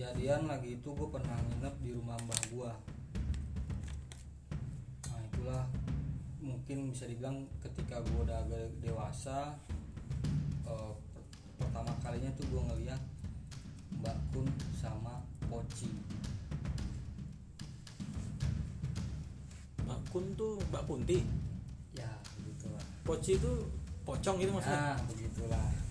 kejadian lagi itu gue pernah nginep di rumah mbah gue. Nah itulah mungkin bisa dibilang ketika gue udah agak dewasa, pertama kalinya tuh gue ngeliat Mbak Kun sama Poci. Mbak Kun tuh Mbak Kunti. Ya begitulah. Poci itu pocong gitu maksudnya. Nah begitulah.